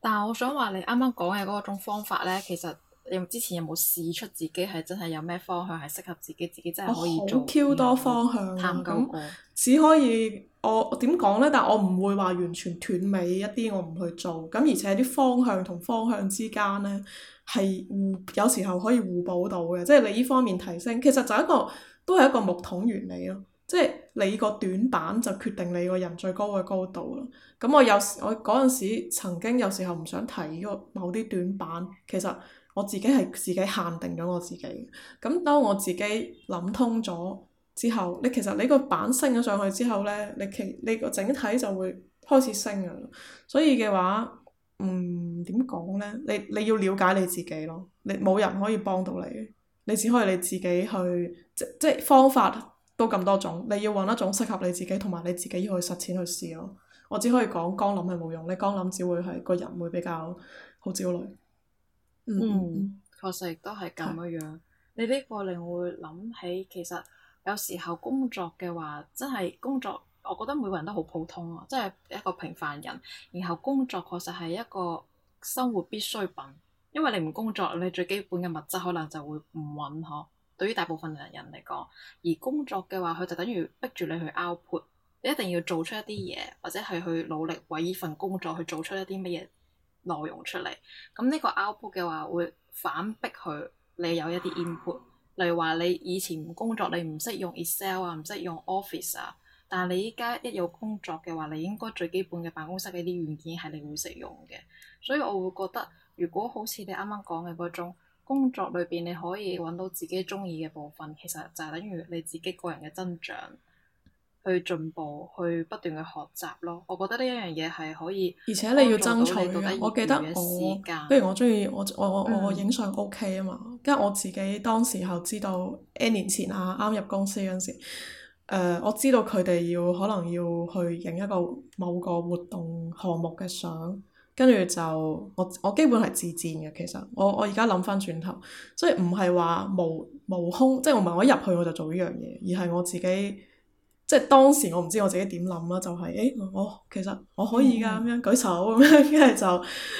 但係我想話你啱啱講嘅嗰種方法咧，其實你之前有冇試出自己係真係有咩方向係適合自己，自己真係可以做？ 好 Q 多方向探究過， 只可以我點講呢？但我唔會話完全斷尾一啲，我唔去做。咁而且啲方向同方向之間呢，係互有時候可以互補到嘅，即係你呢方面提升，其實就一個都係一個木桶原理咯。即係你個短板就決定你個人最高嘅高度咯。咁我有時我嗰陣時曾經有時候唔想提呢個某啲短板，其實我自己係自己限定咗我自己。咁當我自己諗通咗之後，你其實你個板升咗上去之後呢，你其你個整體就會開始升㗎啦。所以嘅話，嗯，點講呢？你你要了解你自己咯。你冇人可以幫到你，你只可以你自己去即即方法。都咁多種，你要揾一種適合你自己同埋你自己要去實踐去試咯。我只可以講光諗係冇用，你光諗只會係個人會比較好焦慮。 嗯，嗯確實亦都係咁樣樣。你呢個令我會諗起，其實有時候工作嘅話，真係工作，我覺得每個人都好普通啊，即係一個平凡人。然後工作確實係一個生活必需品，因為你唔工作，你最基本嘅物質可能就會唔穩呵。對於大部分人人嚟講，而工作嘅話，佢就等於逼住你去 output，你一定要做出一啲嘢，或者係去努力為呢份工作去做出一啲乜嘢內容出嚟。咁呢個 output 嘅話，會反逼佢你有一啲 input。例如話你以前唔工作，你唔識用 Excel 啊，唔識用 Office 啊，但係你依家一有工作嘅話，你應該最基本嘅辦公室嘅啲軟件係你會識用嘅。所以我會覺得，如果好似你啱啱講嘅嗰種，工作裏邊你可以揾到自己中意嘅部分，其實就係等於你自己個人嘅增長，去進步，去不斷嘅學習咯。我覺得呢一樣嘢係可以， 而且你要爭取嘅。我記得我，不如我中意我我我我影相 OK 啊嘛，跟住、嗯、我自己當時候知道 N 年前啊，啱入公司嗰陣時，誒、呃、我知道佢哋要可能要去影一個某個活動項目嘅相。跟住就我我基本係自薦嘅，其實我我而家諗翻轉頭，所以唔係話無無空，即係我唔係我一入去我就做呢樣嘢，而係我自己即係當時我唔知我自己點諗啦，就係、是、誒我其實我可以㗎咁、嗯、樣舉手咁樣，跟住就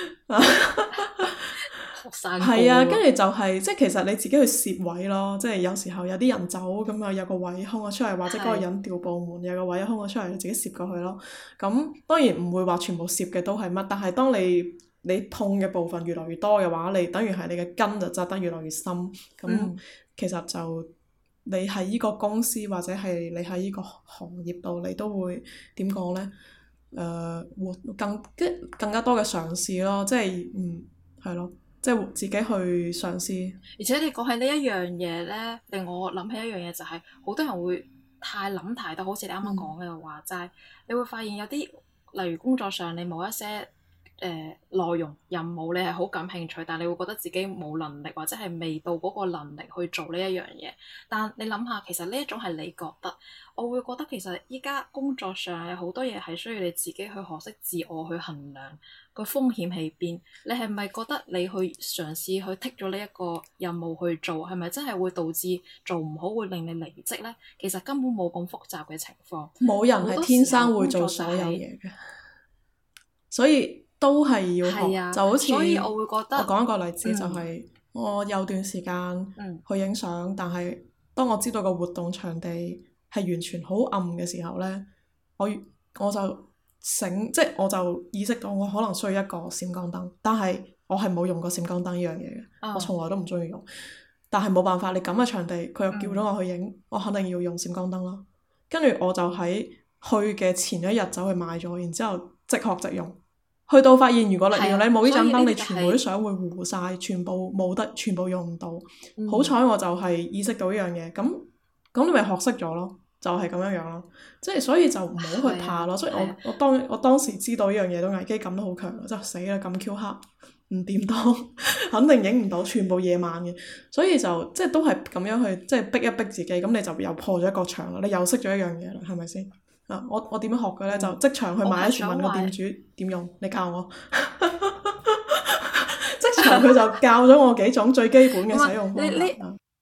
係啊，跟住就係、是、即係其實你自己去攝位咯，即係有時候有啲人走咁啊，有個位空咗出嚟，或者嗰個人調部門有個位空咗出嚟，你自己攝過去咯。咁當然唔會話全部攝嘅都係乜，但係當你你碰嘅部分越來越多嘅話，你等於係你嘅根就扎得越來越深。咁、嗯、其實就你喺依個公司或者係你喺依個行業度，你都會點講呢？誒、呃，活更更加多嘅嘗試咯，即係嗯係咯。即係自己去嘗試， 而且你講起呢一樣嘢咧，令我諗起一樣嘢就係、是，好多人會太諗太多，好似你啱啱講嘅話，就係、嗯、你會發現有啲，例如工作上你冇一些。誒、呃、內容任務你係好感興趣，但係你會覺得自己冇能力或者係未到嗰個能力去做呢一樣嘢。但你諗下，其實呢一種係你覺得，我會覺得其實依家工作上有好多嘢係需要你自己去學識自我去衡量個風險喺邊。你係咪覺得你去嘗試去剔咗呢一個任務去做，係咪真係會導致做唔好，會令你離職呢？其實根本冇咁複雜嘅情況。 冇人係天生會做所有嘢嘅，所以。都係要學，啊、就好似我講一個例子，就係、是嗯、我有段時間去影相，嗯、但係當我知道個活動場地係完全好暗嘅時候呢，我我就醒，即係我就意識到我可能需要一個閃光燈，但係我係冇用過閃光燈呢樣嘢嘅，嗯、我從來都唔中意用。但係冇辦法，你咁嘅場地，佢又叫咗我去影，嗯、我肯定要用閃光燈啦。跟住我就喺去嘅前一日走去買咗，然之後即學即用。去到發現，如果你原來你冇呢盞燈，你全部啲相會糊晒，全部冇得，全部用唔到。嗯、好彩我就係意識到呢樣嘢，咁咁你咪學識咗咯，就係、是、咁樣樣咯。即係所以就唔好去怕咯。啊、所以我、啊、我當我當時知道呢樣嘢都危機感都好強，就死啦咁 Q 黑，唔掂當，肯定影唔到，全部夜晚嘅。所以就即係都係咁樣去，即係逼一逼自己，咁你就又破咗一個牆啦。你又識咗一樣嘢啦，係咪先？啊！我我點樣學嘅咧？嗯、就即場去買，一問個店主點用，你教我。即場佢就教咗我幾種最基本嘅使用方法。你你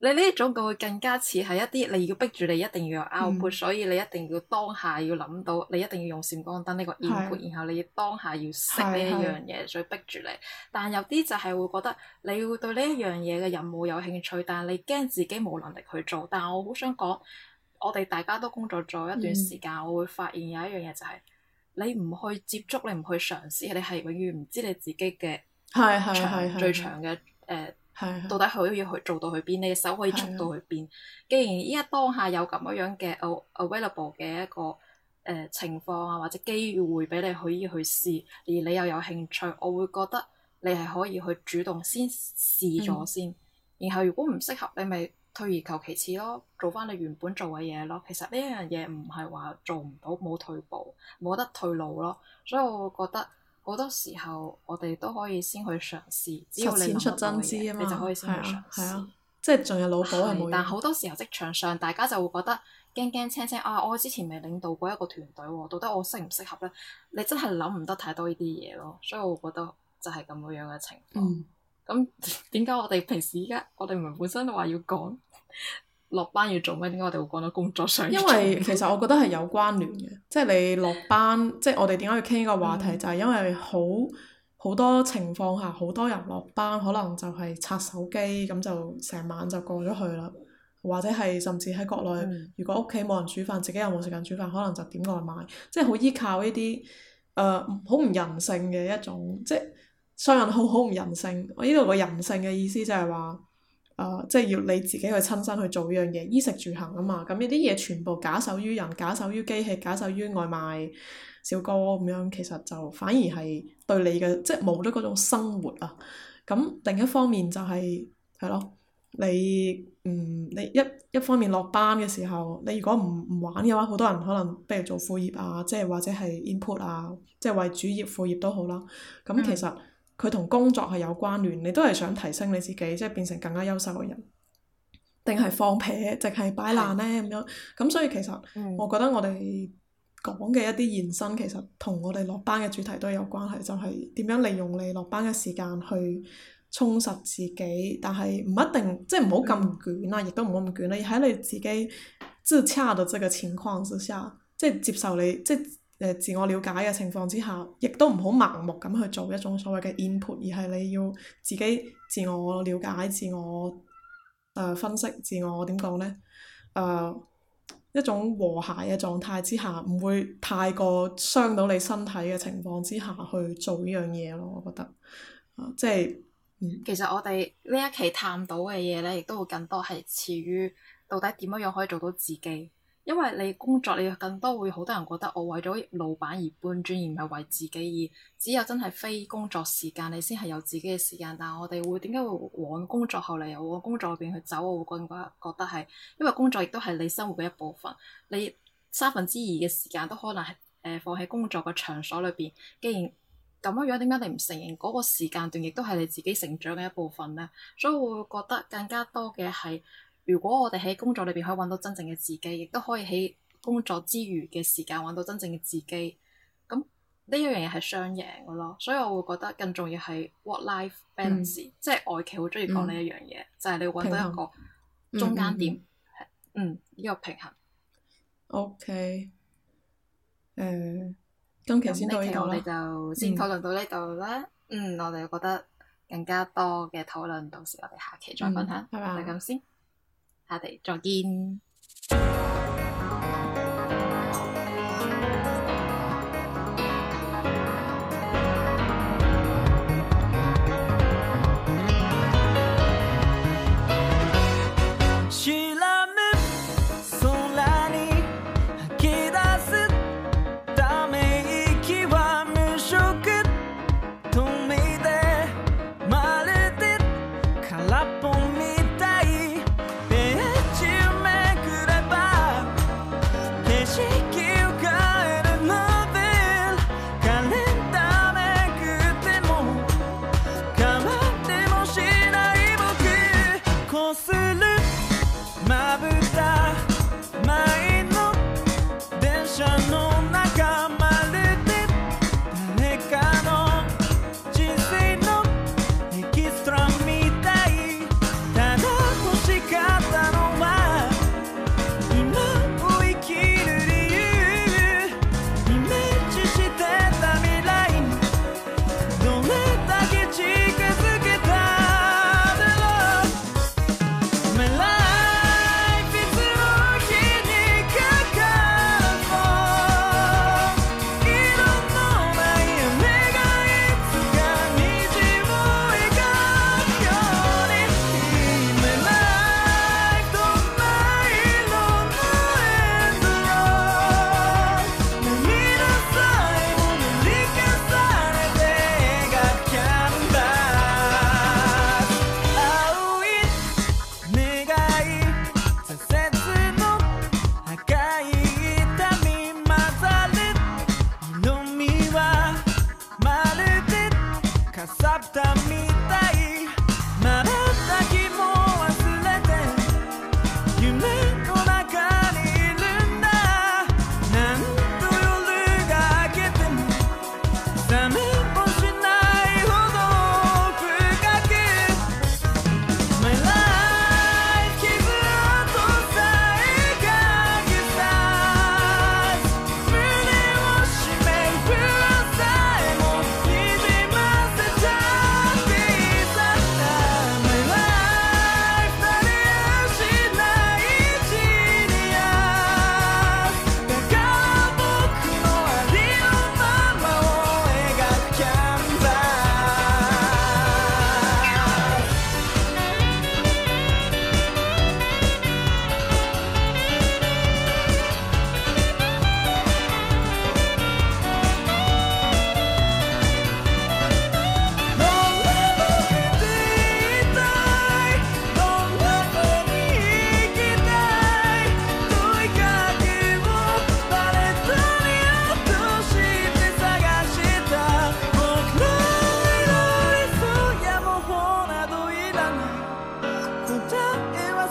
你呢一種佢會更加似係一啲你要逼住你一定要有 output，、嗯、所以你一定要當下要諗到，你一定要用閃光燈呢個 input，是然後你要當下要識呢一樣嘢，所以逼住你。但有啲就係會覺得你會對呢一樣嘢嘅任務有興趣，但係你驚自己冇能力去做。但係我好想講，我哋大家都工作咗一段時間，嗯、我會發現有一樣嘢就係、是、你唔去接觸，你唔去嘗試，你係永遠唔知你自己嘅長最長嘅誒。呃係到底可以去做到去邊？你嘅手可以捉到去邊？的既然依家當下有咁樣嘅 available 嘅一個誒、呃、情況啊，或者機會俾你可以去試，而你又有興趣，我會覺得你係可以去主動先試咗先。嗯、然後如果唔適合，你咪退而求其次咯，做翻你原本做嘅嘢咯。其實呢一樣嘢唔係話做唔到，冇退步，冇得退路咯。所以我會覺得。好多時候，我哋都可以先去嘗試，只要你諗得到嘅嘢，你就可以先去嘗試。 啊啊、即係仲有腦補係冇。 但好多時候職場上，大家就會覺得驚驚青青啊！我之前未領導過一個團隊喎，到底我適唔適合咧？你真係諗唔得太多呢啲嘢咯，所以我覺得就係咁樣嘅情況。咁點解我哋平時依家我哋唔係本身都話要講？落班要做咩？點解我哋會講到工作上？ 因為其實我覺得係有關聯嘅，即係你落班，即係我哋點解要傾呢個話題，嗯、就係因為好好多情況下，好多人落班可能就係刷手機，咁就成晚就過咗去啦。或者係甚至喺國內，嗯、如果屋企冇人煮飯，自己又冇時間煮飯，可能就點外賣，即係好依靠呢啲誒好唔人性嘅一種，即係雙引號好唔人性。我呢度個人性嘅意思就係話。誒、呃，即係要你自己去親身去做呢樣嘢，衣食住行啊嘛，咁呢啲嘢全部假手於人，假手於機器，假手於外賣小哥咁樣，其實就反而係對你嘅即係冇咗嗰種生活啊。咁另一方面就係係咯，你嗯你一一方面落班嘅時候，你如果唔唔玩嘅話，好多人可能不如做副業啊，即係或者係 input 啊，即係為主業副業都好啦。咁其實。嗯佢同工作係有關聯，你都係想提升你自己，即係變成更加優秀嘅人，定係放屁，淨係擺爛呢？咁樣？咁所以其實，我覺得我哋講嘅一啲延伸，其實同我哋落班嘅主題都有關係，就係、是、點樣利用你落班嘅時間去充實自己，但係唔一定，即係唔好咁捲啦，亦都唔好咁捲啦，喺你自己自洽嘅這個情況之下，即係接受你即係。誒自我了解嘅情況之下，亦都唔好盲目咁去做一種所謂嘅 input，而係你要自己自我了解、自我誒、呃、分析、自我點講呢？誒、呃、一種和諧嘅狀態之下，唔會太過傷到你身體嘅情況之下去做呢樣嘢咯。我覺得，呃、即係、嗯、 其實我哋呢一期探討嘅嘢呢，亦都會更多係似於到底點樣樣可以做到自己。因為你工作，你更多會好多人覺得我為咗老闆而搬磚，而唔係為自己。而只有真係非工作時間，你先係有自己嘅時間。但係我哋會點解會往工作後嚟又往工作入邊去走？我會更加覺得係因為工作亦都係你生活嘅一部分。你三分之二嘅時間都可能係誒、呃、放喺工作嘅場所裏邊。既然咁樣樣，點解你唔承認嗰個時間段亦都係你自己成長嘅一部分呢？所以我會覺得更加多嘅係。如果我哋喺工作裏邊可以揾到真正嘅自己，亦都可以喺工作之餘嘅時間揾到真正嘅自己，咁呢一樣嘢係雙贏嘅咯。所以我會覺得更重要係 work-life balance，、嗯、即係外企好中意講呢一樣嘢，嗯、就係你要揾到一個中間點，嗯呢、嗯這個平衡。OK，誒、呃，今期先到呢度啦。咁呢期我哋就先討論到呢度啦。嗯，我哋覺得更加多嘅討論，到時我哋下期再分享。嗯、就咁先。下期再見。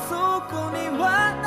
そこには